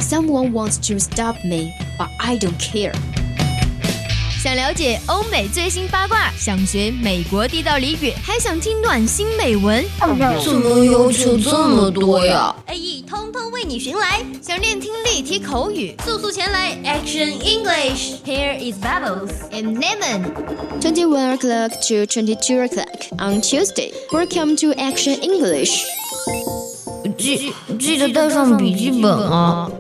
Someone wants to stop me, but I don't care. 想了解欧美最新八卦，想学美国地道俚语，还想听暖心美文， 怎么要求这么多呀 ？AE 通通为你寻来。想练听力、提口语，速速前来 Action English. Here is Bubbles and Lemon. 21 o'clock to 22 o'clock on Tuesday. Welcome to Action English. 记得带上笔记本啊。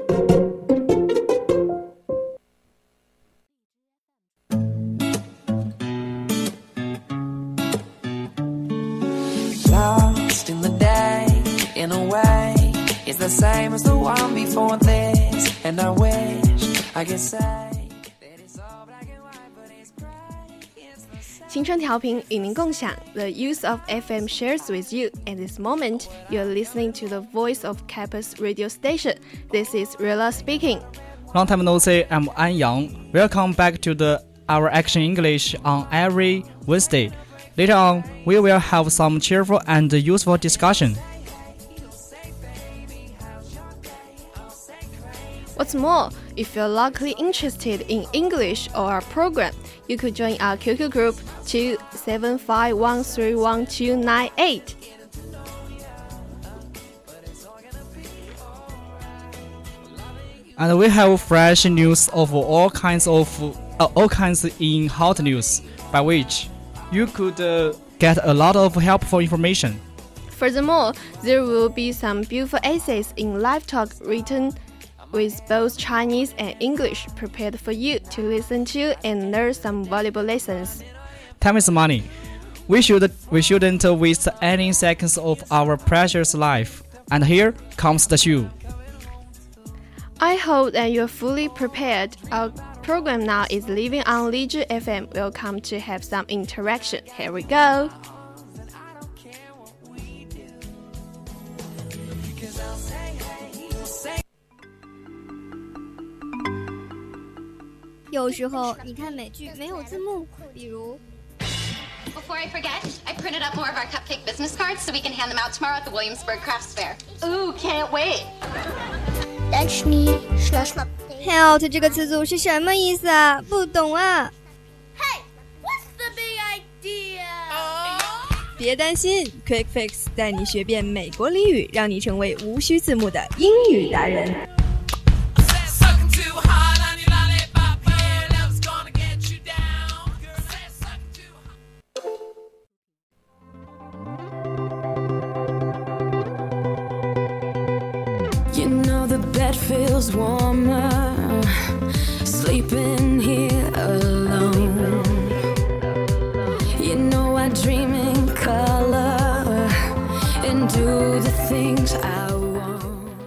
Lost in the day, in a way, it's the same as the one before this. And I wish I could say that it's all black and white, but it's gray. 青春调频与您共享 The use of FM shares with you. At this moment, you're listening to the voice of Campus radio station. This is Rilla speaking. Long time no see, I'm An Yang. Welcome back to our Action English on every Wednesday. Later on, we will have some cheerful and useful discussion. What's more, if you're locally interested in English or our program, you could join our QQ group 275131298. And we have fresh news of all kinds in hot news, by which you could get a lot of helpful information. Furthermore, there will be some beautiful essays in live talk written with both Chinese and English prepared for you to listen to and learn some valuable lessons. Time is money. We shouldn't waste any seconds of our precious life. And here comes the show. I hope that you're fully prepared. Our program now is living on Lizhi FM. Welcome to have some interaction. Here we go. 有时候你看美剧没有字幕，比如 Before I forget, I printed up more of our cupcake business cards so we can hand them out tomorrow at the Williamsburg Crafts Fair. Ooh, can't wait. Help 这个词组是什么意思啊？不懂啊。 Hey, what's the big idea? 别担心 ，Quick Fix 带你学遍美国俚语，让你成为无需字幕的英语达人。 You know the bed feels warmer, sleeping here alone. You know I dream in color and do the things I want.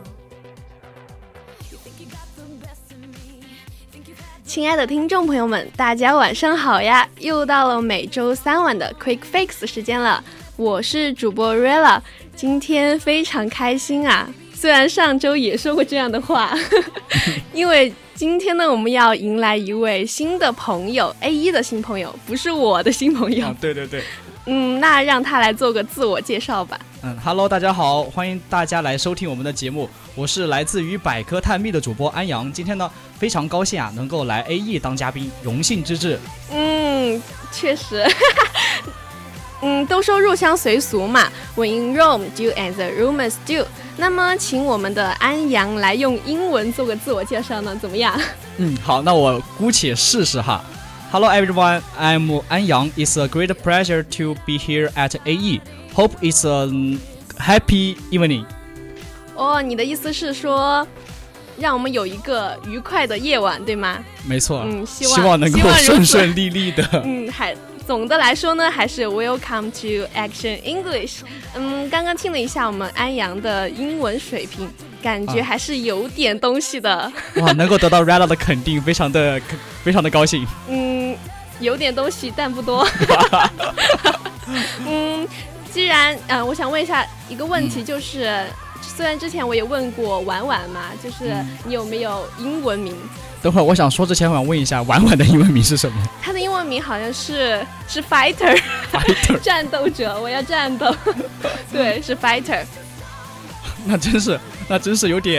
亲爱的听众朋友们，大家晚上好呀！又到了每周三晚的 Quick Fix 时间了，我是主播 Rilla， 今天非常开心啊！虽然上周也说过这样的话，因为今天呢，我们要迎来一位新的朋友 ，A1 的新朋友，不是我的新朋友。 对对对。 那让他来做个自我介绍吧。 Hello， 大家好，欢迎大家来收听我们的节目，我是来自于百科探秘的主播安阳。今天呢，非常高兴啊，能够来 AE 当嘉宾，荣幸之至。 确实。都说入乡随俗嘛 ，When in Rome, do as the Romans do。那么，请我们的安阳来用英文做个自我介绍呢，怎么样？ 好，那我姑且试试哈。Hello everyone, I'm An Yang. It's a great pleasure to be here at AE. Hope it's a happy evening. 你的意思是说，让我们有一个愉快的夜晚，对吗？ 没错。 希望能够顺顺利利的。 总的来说呢，还是 Welcome to Action English。刚刚听了一下我们安阳的英文水平，感觉还是有点东西的。 哇，能够得到 Rella 的肯定，非常的高兴。 有点东西，但不多。既然我想问一下一个问题，就是虽然之前我也问过婉婉嘛，就是你有没有英文名？ 等会儿我想说之前，我想问一下婉婉的英文名是什么？ 她的英文名好像是 fighter， 战斗者，我要战斗。对，是 fighter。 那真是有点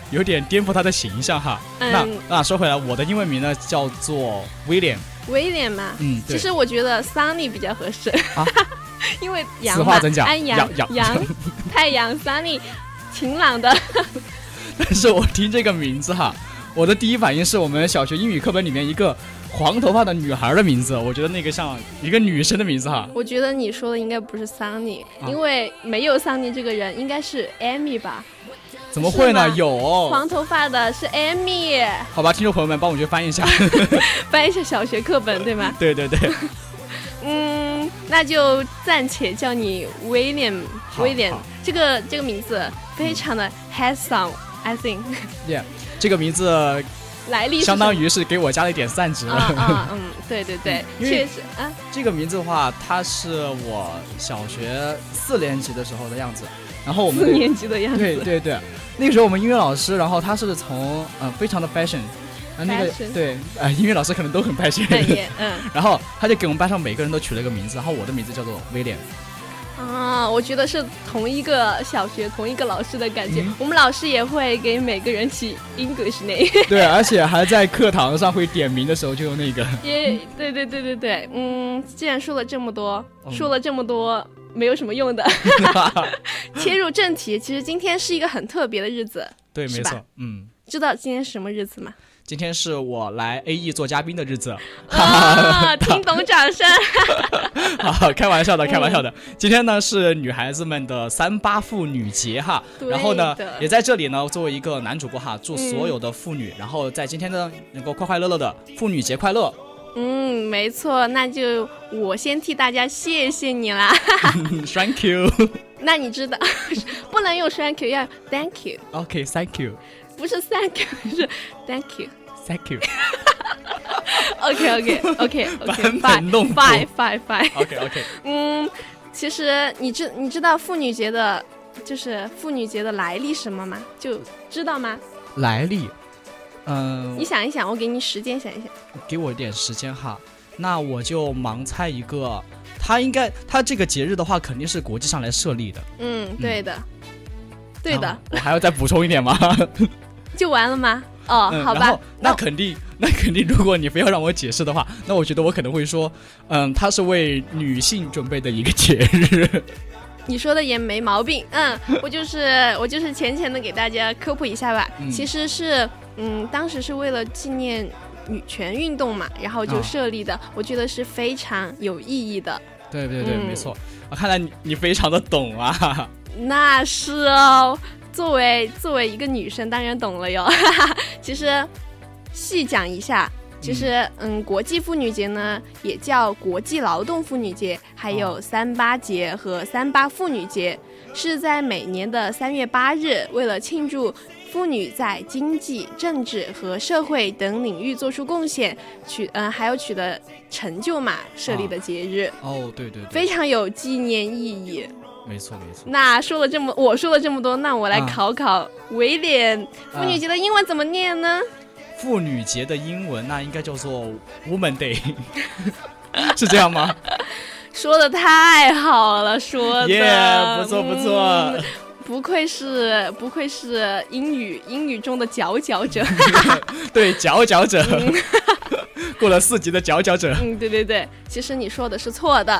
有点颠覆他的形象哈。那说回来，我的英文名呢叫做 William。 威廉嘛，其实我觉得 Sunny 比较合适啊，因为阳嘛，安阳太阳 Sunny 晴朗的。 但是我听这个名字哈，我的第一反应是我们小学英语课本里面一个黄头发的女孩的名字，我觉得那个像一个女生的名字哈。 我觉得你说的应该不是 Sunny，因为没有 Sunny 这个人，应该是 Amy 吧？ 怎么会呢？有黄头发的是 Amy。 好吧，听众朋友们，帮我去翻一下， 翻一下小学课本，对吗？ 对对对。 那就暂且叫你 William。这个名字非常的 handsome，I think。Yeah， 这个名字来历相当于是给我加了一点散值。 对对对，确实啊。 这个名字的话，它是我小学4年级的时候的样子。然后我们 4年级的样子， 对对对，那个时候我们音乐老师，然后他是从非常的 fashion， 那个对音乐老师可能都很 fashion， 然后他就给我们班上每个人都取了一个名字，然后我的名字叫做威廉。 我觉得是同一个小学同一个老师的感觉，我们老师也会给每个人起 English name。 对，而且还在课堂上会点名的时候就用那个。 对，既然说了这么多，没有什么用的。切入正题，其实今天是一个很特别的日子， 对，没错， 知道今天是什么日子吗？ 今天是我来 AE 做嘉宾的日子。 听懂掌声。 好，开玩笑的。今天呢是女孩子们的38妇女节哈，然后呢也在这里呢作为一个男主播哈，祝所有的妇女，然后在今天呢能够快快乐乐的妇女节快乐。 没错，那就我先替大家谢谢你啦。 Thank you。 那你知道不能用 thank you， 要 thank you。 OK， thank you。 不是 thank you， 是 thank you。 Thank you。 OK， fine。 OK。 其实你知道妇女节的来历什么吗？就知道吗？ 来历你想一想，我给你时间想一想。 给我一点时间哈，那我就盲猜一个，它这个节日的话肯定是国际上来设立的。 对的。 我还要再补充一点吗？ 就完了吗？好吧。 那肯定，如果你非要让我解释的话，那我觉得我可能会说，它是为女性准备的一个节日。 你说的也没毛病。我就是浅浅的给大家科普一下吧。其实是当时是为了纪念女权运动嘛，然后就设立的，我觉得是非常有意义的。 对，没错。看来你非常的懂啊。 那是哦，作为一个女生当然懂了哟。其实细讲一下，其实国际妇女节呢也叫国际劳动妇女节，还有38节和38妇女节，是在每年的3月8日，为了庆祝妇女在经济、政治和社会等领域做出贡献，还有取得成就嘛，设立的节日。 对， 非常有纪念意义。 没错。 那我说了这么多，那我来考威廉，妇女节的英文怎么念呢？ 妇女节的英文那应该叫做 Woman Day。 是这样吗？ 说的太好了，说的不错。 不愧是英语中的佼佼者。 对，佼佼者。过了4级的佼佼者。 对，其实你说的是错的。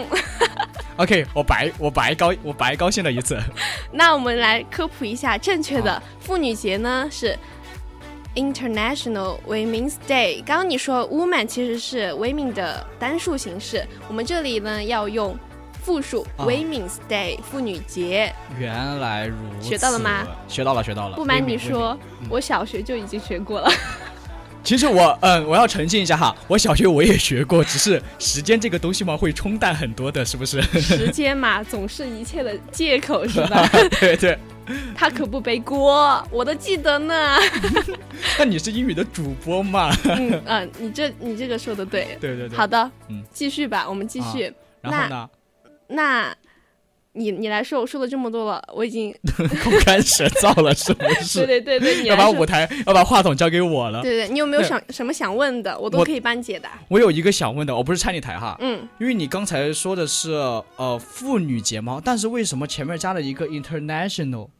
OK， 我白高兴了一次。 那我们来科普一下正确的妇女节呢，是 International Women's Day。刚刚你说 woman 其实是 women 的单数形式，我们这里呢要用复数 Women's Day 妇女节。 原来如此。 学到了吗？ 学到了。 不瞒你说，我小学就已经学过了。 其实我要澄清一下哈，我小学我也学过，只是时间这个东西嘛会冲淡很多的，是不是？ 时间嘛总是一切的借口，是吧？ 对。 他可不背锅，我都记得呢。 那你是英语的主播嘛？ 你这个说的对。 对。 好的，继续吧，我们继续。 然后呢？ 那你来说，我说了这么多了，我已经口干舌燥了，是不是？ 对，你要把话筒交给我了。 对，你有没有什么想问的，我都可以帮你解答。 我有一个想问的，我不是拆你台哈， 因为你刚才说的是妇女节嘛，但是为什么前面加了一个 international？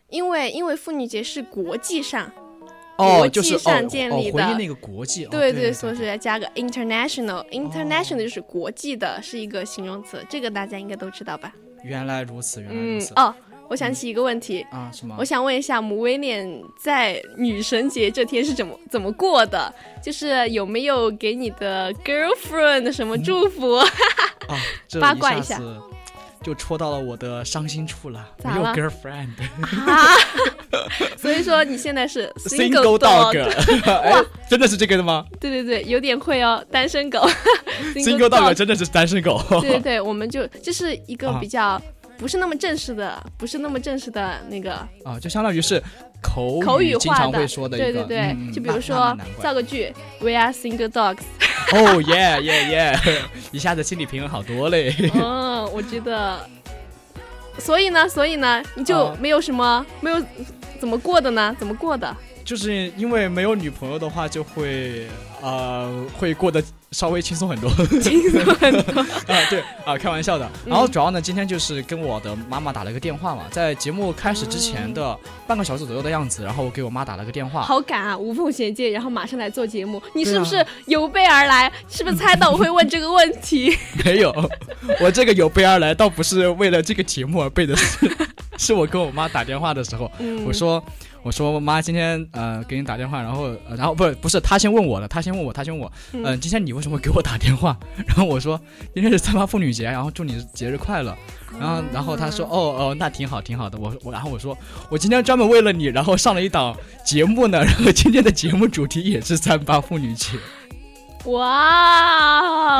因为妇女节是国际上。 就是建立的， 回应那个国际， 对，所以要加个 international，international 就是国际的，是一个形容词，这个大家应该都知道吧？ 原来如此，原来如此。 我想起一个问题啊，什么？ 我想问一下母威廉在女神节这天是怎么过的？就是有没有给你的 girlfriend 什么祝福？八卦一下。 就戳到了我的伤心处了，没有 girlfriend 所以说你现在是 single dog 真的是这个的吗？ 对，有点会哦，单身狗 single dog 真的是单身狗对，我们就是一个比较不是那么正式的那个就相当于是口语经常会说的一个， 对，就比如说造个句 We are single dogs 耶一下子心理平衡好多嘞我觉得所以呢你就没有怎么过的呢？怎么过的？ 就是因为没有女朋友的话就会过得稍微轻松很多对开玩笑的。然后主要呢今天就是跟我的妈妈打了个电话嘛，在节目开始之前的半个小时左右的样子，然后我给我妈打了个电话。 好赶啊，无缝衔接，然后马上来做节目，你是不是有备而来？是不是猜到我会问这个问题？ 没有，我这个有备而来倒不是为了这个节目而备的是我跟我妈打电话的时候我说妈，今天给你打电话，然后不是她先问我，今天你为什么给我打电话？然后我说今天是3·8妇女节，然后祝你节日快乐。然后她说那挺好的。然后我说我今天专门为了你，然后上了一档节目呢，然后今天的节目主题也是3·8妇女节。 哇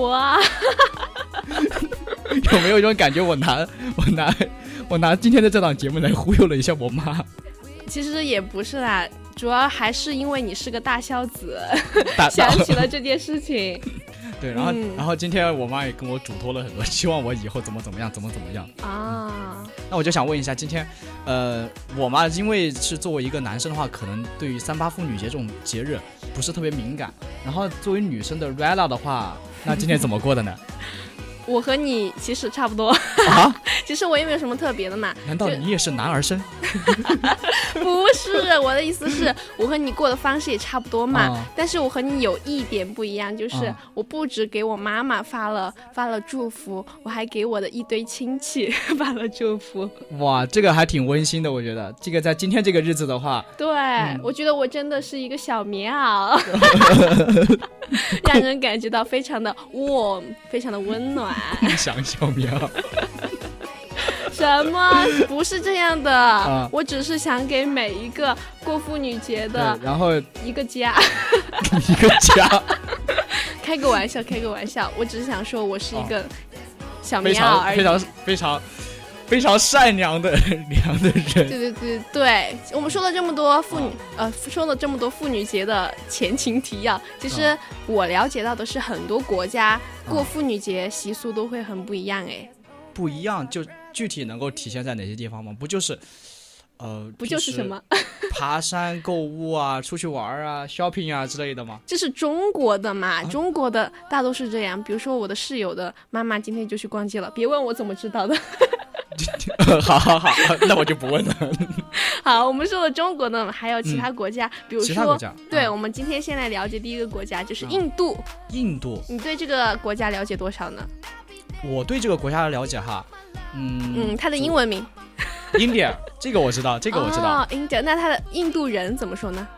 有没有一种感觉我拿今天的这档节目来忽悠了一下我妈？ 其实也不是啦，主要还是因为你是个大孝子想起了这件事情对，然后今天我妈也跟我嘱托了很多，希望我以后怎么样啊。那我就想问一下，今天我妈因为是作为一个男生的话，可能对于3·8妇女节这种节日不是特别敏感，然后作为女生的 Rella 的话，那今天怎么过的呢？ 我和你其实差不多其实我也没有什么特别的嘛。 难道你也是男儿身？ 不是，我的意思是我和你过的方式也差不多嘛，但是我和你有一点不一样，就是我不只给我妈妈发了祝福，我还给我的一堆亲戚发了祝福。 哇，这个还挺温馨的，我觉得这个在今天这个日子的话， 对，我觉得我真的是一个小棉袄让人感觉到非常的 warm， 非常的温暖。 共享小棉袄什么？不是这样的我只是想给每一个过妇女节的然后一个家一个家开个玩笑，我只是想说我是一个小棉袄而已， 非常善良的人。 对，我们说了这么多妇女节的前情提要，其实我了解到的是很多国家过妇女节习俗都会很不一样不一样就具体能够体现在哪些地方吗？不就是什么爬山购物啊，出去玩啊 shopping 啊之类的吗？ 这是中国的嘛，中国的大都是这样。比如说我的室友的妈妈今天就去逛街了，别问我怎么知道的好那我就不问了好，我们说了中国的还有其他国家比如说其他国家对我们今天先来了解第一个国家就是印度你对这个国家了解多少呢？ 我对这个国家的了解它的英文名 India 这个我知道 India 那它的印度人怎么说呢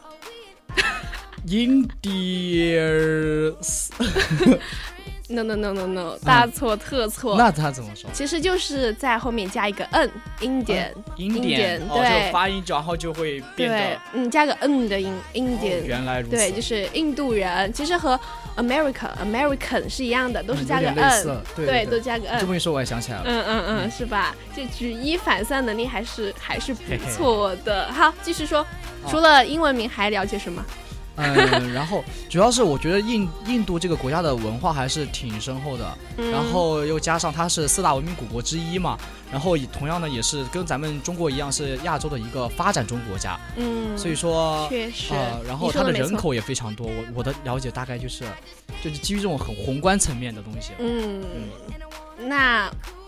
？India No， 大错特错。 那他怎么说？ 其实就是在后面加一个 n，Indian， 对，就发音然后就会变得加个 n 的音 ，Indian。 原来如此。 对，就是印度人，其实和 American 是一样的，都是加个 n， 对，都加个 n。 这么一说我也想起来了。 是吧？就举一反三能力还是不错的。好，继续说，除了英文名还了解什么？ 然后主要是我觉得印度这个国家的文化还是挺深厚的，然后又加上它是4大文明古国之一嘛，然后同样呢也是跟咱们中国一样是亚洲的一个发展中国家，所以说确实， 然后它的人口也非常多，我的了解大概就是基于这种很宏观层面的东西。 那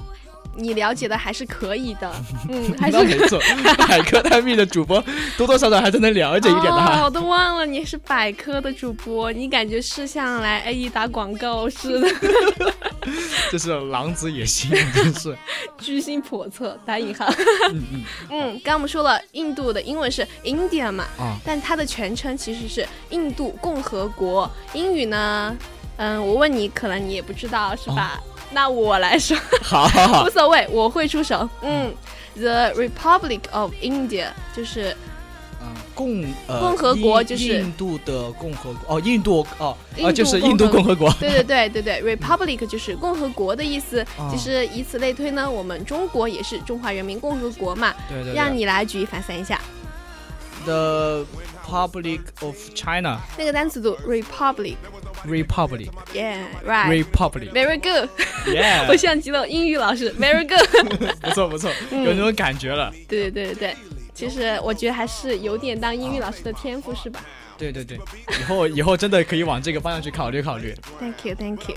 你了解的还是可以的，还是那没错，百科探秘的主播多多少少还是能了解一点的。 我都忘了你是百科的主播，你感觉是像来 AE 打广告似的。 这是狼子野心，真是居心叵测打引号。刚刚我们说了，印度的英文是 India 嘛，但它的全称其实是印度共和国。英语呢，我问你，可能你也不知道是吧？那我来说， 好， 无所谓，我会出手。The Republic of India 就是共和国，就是印度的共和国。印度就是印度共和国。 对，Republic 就是共和国的意思。其实以此类推呢，我们中国也是中华人民共和国嘛。 对， 让你来举一反三一下。 The Republic of China。 那个单词读 Republic。Yeah, right. Republic. Very good. Yeah. 我像极了英语老师 ，Very good. 不错，有那种感觉了。 对，其实我觉得还是有点当英语老师的天赋，是吧？ 对，以后真的可以往这个方向去考虑。 Thank you. Thank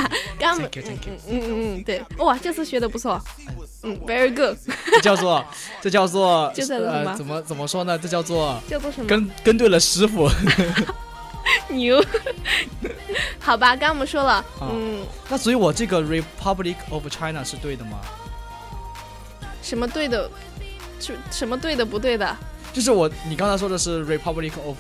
you. 对，哇，这次学的不错。Very good. 这叫做怎么说呢？这叫做什么？ 跟对了师傅。 牛。好吧，刚刚我们说了， 那所以我这个 Republic of China 是对的吗？ 什么对的？什么对的不对的？ 就是你刚才说的是 Republic of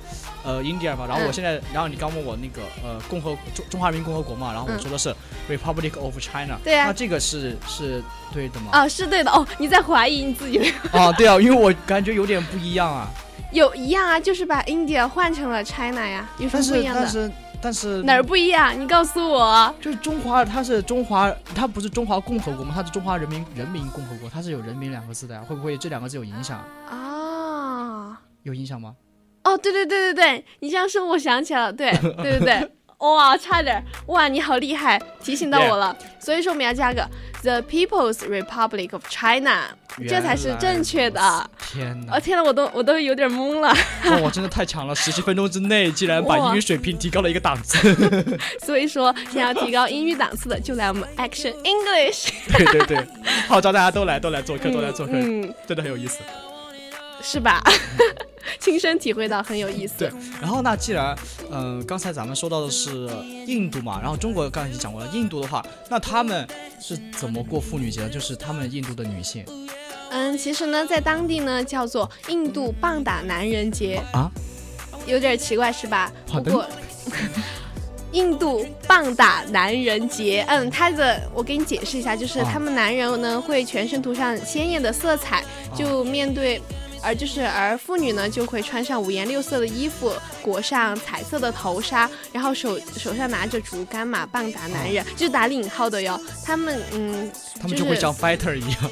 India 嘛，然后然后你刚问我那个中华人民共和国嘛，然后我说的是 Republic of China。对啊，那这个是对的吗？ 是对的。你在怀疑你自己？ 对啊，因为我感觉有点不一样啊。 有一样啊，就是把 India 换成了 China 呀，有什么不一样的？ 但是哪儿不一样？你告诉我。 就是它不是中华共和国吗？它是中华人民共和国，它是有人民2个字的呀，会不会这2个字有影响啊？有影响吗？ 对，你这样说我想起来了，对。哇，差点！哇，你好厉害，提醒到我了。所以说我们要加个 The People's Republic of China， 这才是正确的。 天哪！ 天哪，我都有点懵了。 我真的太强了！17分钟之内竟然把英语水平提高了一个档次。 所以说，想要提高英语档次的，就来我们 Action English。 对，号召大家都来做课，真的很有意思。 是吧？亲身体会到很有意思。 对，然后那既然刚才咱们说到的是印度嘛，然后中国刚才已经讲过了，印度的话，那他们是怎么过妇女节的？就是他们印度的女性。 其实呢，在当地呢叫做印度棒打男人节啊，有点奇怪是吧？不过。印度棒打男人节，我给你解释一下，就是他们男人呢会全身涂上鲜艳的色彩，就面对。而妇女呢就会穿上5颜6色的衣服，裹上彩色的头纱，然后手上拿着竹竿嘛，棒打男人，就打引号的哟。他们就会像 fighter 一样。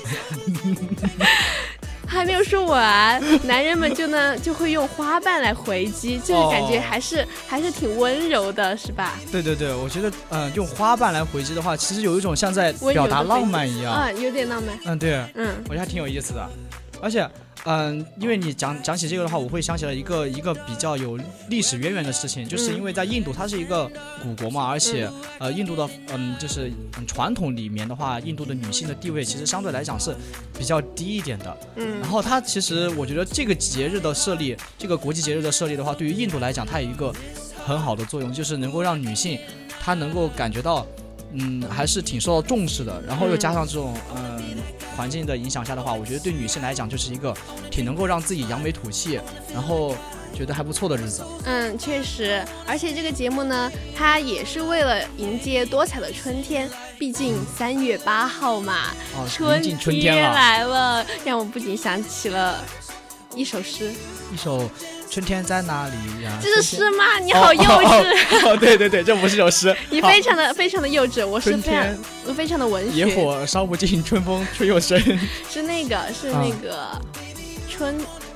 还没有说完，男人们就会用花瓣来回击，这个感觉还是挺温柔的，是吧？ 对，我觉得用花瓣来回击的话，其实有一种像在表达浪漫一样， 有点浪漫。 对，我觉得还挺有意思的，而且。因为你讲起这个的话，我会想起来一个比较有历史渊源的事情，就是因为在印度它是一个古国嘛，而且印度的就是传统里面的话，印度的女性的地位其实相对来讲是比较低一点的。然后它其实我觉得这个节日的设立，这个国际节日的设立的话，对于印度来讲，它有一个很好的作用，就是能够让女性她能够感觉到还是挺受到重视的，然后又加上这种环境的影响下的话，我觉得对女性来讲就是一个挺能够让自己扬眉吐气，然后觉得还不错的日子。 确实，而且这个节目呢，它也是为了迎接多彩的春天，毕竟3月8号嘛，春天来了，让我不仅想起了一首诗， 一首春天在哪里呀？ 这是诗吗？你好幼稚！ 对，这不是首诗。 你非常的幼稚，我是非常的文学。 野火烧不尽，春风吹又生。 是那个春。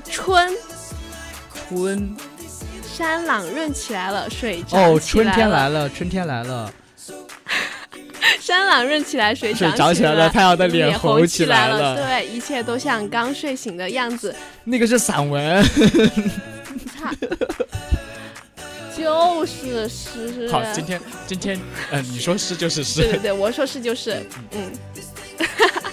山朗润起来了，水涨起来了。 春天来了。 山朗润起来，水涨起来了，太阳的脸红起来了。 对，一切都像刚睡醒的样子。 那个是散文。 就是诗。 好，今天你说诗就是诗。 对，我说诗就是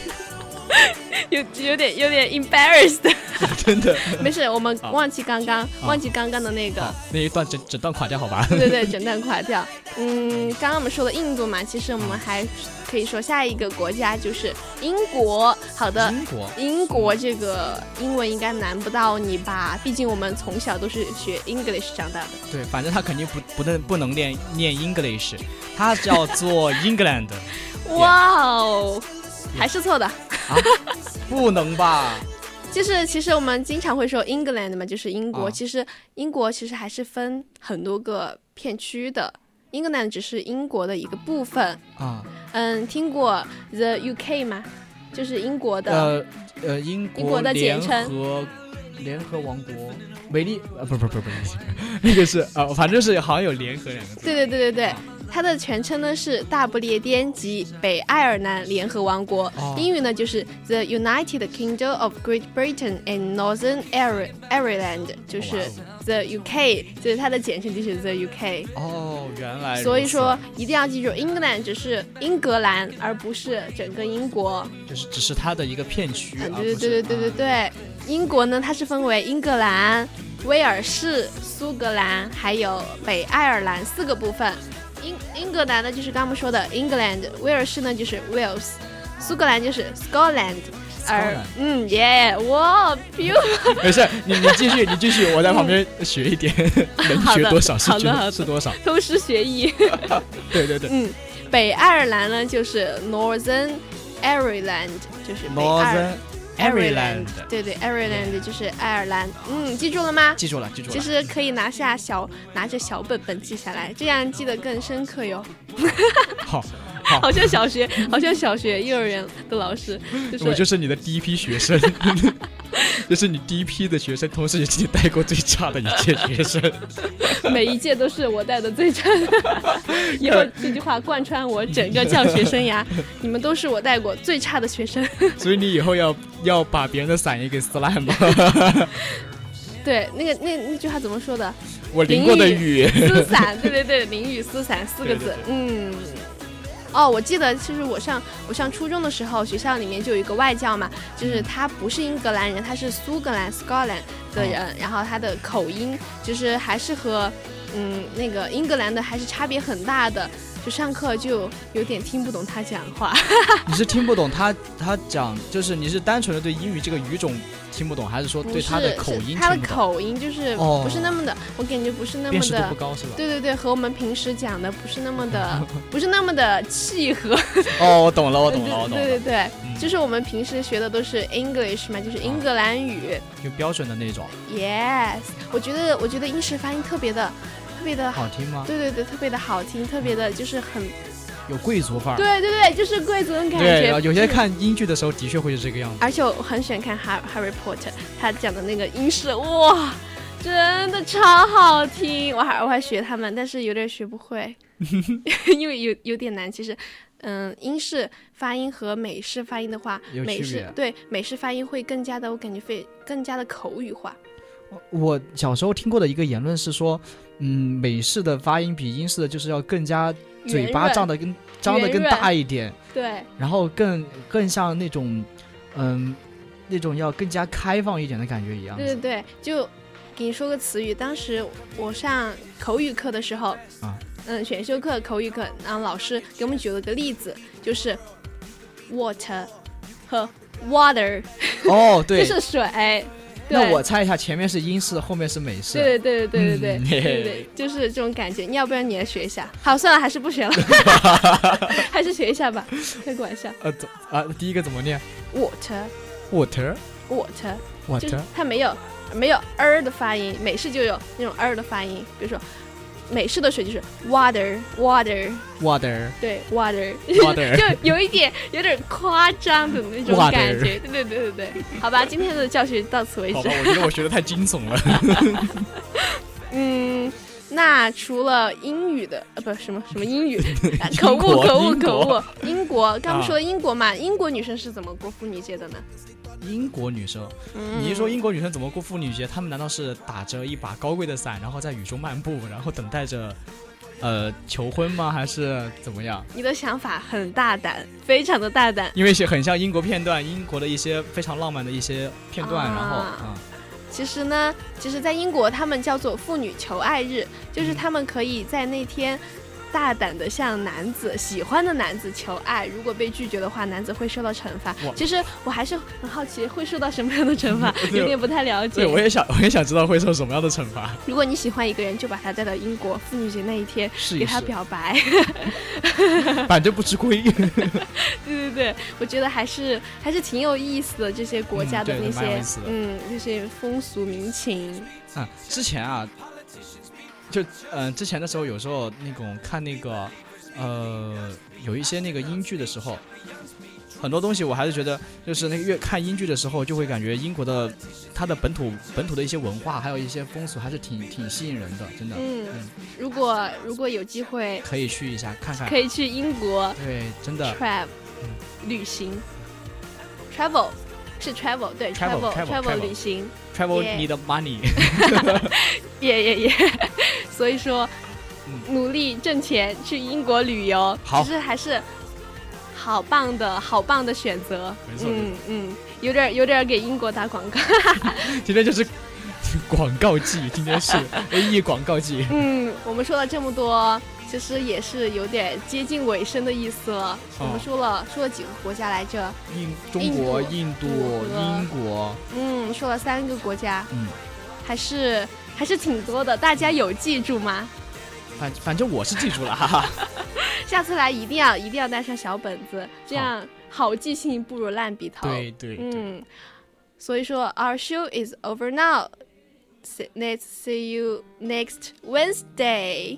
有点 embarrassed 真的没事，我们忘记刚刚的那个那一段整段垮掉好吧？ 对，整段垮掉。刚刚我们说了印度嘛，其实我们还可以说下一个国家就是英国。好的，英国这个英文应该难不到你吧？毕竟我们从小都是学 English 长大的。 对，反正他肯定不能念 English， 它叫做 England。 哇哦，还是错的啊？ 不能吧？ 就是其实我们经常会说 England 嘛，就是英国。其实英国其实还是分很多个片区的。England 只是英国的一个部分啊。 听过 The UK 吗？就是英国的英国的简称。 联合王国，美丽不，那个是反正是好像有联合两个字。 对，它的全称呢是大不列颠及北爱尔兰联合王国。英语呢就是 The United Kingdom of Great Britain and Northern Ireland， 就是 The UK， 就是它的简称就是 The UK。 原来。 所以说一定要记住 England 只是英格兰，而不是整个英国， 就是只是它的一个片区。 对。英国呢，它是分为英格兰、威尔士、苏格兰还有北爱尔兰4个部分。英格兰呢就是刚刚说的 England， 威尔士呢就是 Wales， 苏格兰就是 Scotland。哇 beautiful。 没事，你继续，我在旁边学一点，能学多少是多少， 偷师学艺。 对。 北爱尔兰呢就是 Northern Ireland， 就是北爱尔兰。对 Ireland 就是爱尔兰。记住了吗？ 记住了。 其实可以拿着小本本记下来，这样记得更深刻哟。 好。 好像小学幼儿园的老师， 我就是你的第一批学生。这是你第一批的学生，同时也是你带过最差的一届学生。 每一届都是我带的最差的。以后这句话贯穿我整个教学生涯，你们都是我带过最差的学生。 所以你以后要把别人的伞也给撕烂吗？ 对，那句话怎么说的？ 我淋过的雨撕伞，对，淋雨撕伞4个字。我记得其实我上初中的时候，学校里面就有一个外教嘛，就是他不是英格兰人，他是苏格兰 Scotland 的人，然后他的口音就是还是和那个英格兰的还是差别很大的，就上课就有点听不懂他讲话。 你是听不懂他讲，就是你是单纯的对英语这个语种听不懂，还是说对他的口音听不懂？ 他的口音就是不是那么的，我感觉不是那么的辨识度不高是吧？ 对，和我们平时讲的不是那么的契合。 我懂了。 对，就是我们平时学的都是 English 嘛，就是英格兰语， 就标准的那种。 Yes， 我觉得英式发音特别的好听吗？ 对，特别的好听，特别的就是很有贵族范儿。 对，就是贵族的感觉。 对，有些看英剧的时候的确会是这个样子。 而且我很喜欢看 Harry Potter， 他讲的那个英式，哇，真的超好听。我还学他们，但是有点学不会，因为有点难。其实，英式发音和美式发音的话，美式发音会更加的，我感觉更加的口语化。 我小时候听过的一个言论是说，美式的发音比英式的就是要更加嘴巴张得更大一点， 对， 然后更像那种那种要更加开放一点的感觉一样。 对，就给你说个词语，当时我上口语课的时候选修课口语课，然后老师给我们举了个例子，就是 water 和 water。 对， 就是水。 那我猜一下，前面是英式，后面是美式。 对，就是这种感觉。要不然你也学一下。好，算了，还是不学了，还是学一下吧。开个玩笑。 第一个怎么念 ？water，就是它没有的发音，美式就有那种的发音，比如说。美式的水就是 water， 对 water 就有点夸张的那种感觉。对，好吧，今天的教学到此为止。 好吧，我觉得我学的太惊悚了。 那除了英语的不什么英语口误，英国刚不说英国嘛，英国女生是怎么过妇女节的呢？ 英国女生，你一说英国女生怎么过妇女节，她们难道是打着一把高贵的伞，然后在雨中漫步，然后等待着求婚吗？还是怎么样？ 你的想法很大胆，非常的大胆， 因为很像英国片段，英国的一些非常浪漫的一些片段，然后其实呢，在英国他们叫做妇女求爱日，就是他们可以在那天大胆的向喜欢的男子求爱，如果被拒绝的话，男子会受到惩罚。其实我还是很好奇会受到什么样的惩罚，有点不太了解。 对，我也想知道会受什么样的惩罚。 如果你喜欢一个人，就把他带到英国妇女节那一天给他表白， 反正不吃亏。 对，我觉得还是挺有意思的，这些国家的那些这些风俗民情。 之前啊。就之前的时候，有时候那种看那个有一些那个英剧的时候，很多东西我还是觉得，就是那个越看英剧的时候，就会感觉英国的它的本土的一些文化，还有一些风俗，还是挺吸引人的，真的。 如果有机会， 可以去一下看看， 可以去英国， 对，真的 travel 旅行 ，travel 是 travel 对 travel 旅行 ，travel need money， 所以说，努力挣钱去英国旅游，其实还是好棒的选择。 没错， 有点给英国打广告。 今天就是广告季，今天是 AE 广告季。 我们说了这么多，其实也是有点接近尾声的意思了。我们说了几个国家来着？ 中国、印度、英国。 说了3个国家。还是挺多的，大家有记住吗？ 反正我是记住了，哈哈。 下次来一定要带上小本子，这样好记性不如烂笔头。 对。 所以说 ，our show is over now. Let's see you next Wednesday.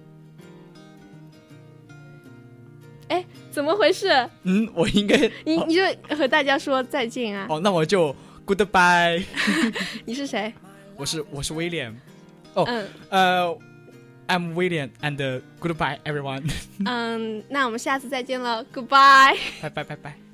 哎，怎么回事？ 我应该你就和大家说再见啊。 那我就 goodbye。 你是谁？ 我是威廉。I'm William and goodbye everyone. 那我们下次再见了 ，Goodbye。 拜拜。